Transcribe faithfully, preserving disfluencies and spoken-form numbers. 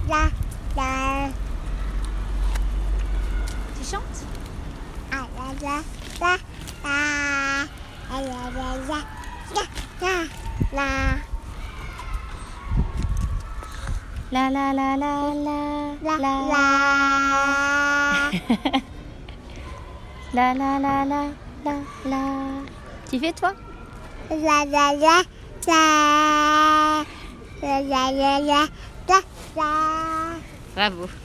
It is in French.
la, la. Tu chantes? Ah, la, la, la, la. La, la, la, la, la, la. La la la la la La, la la. la la la la la la. Tu fais toi? La, la, la, la. La, la, la, la, la, la. Bravo.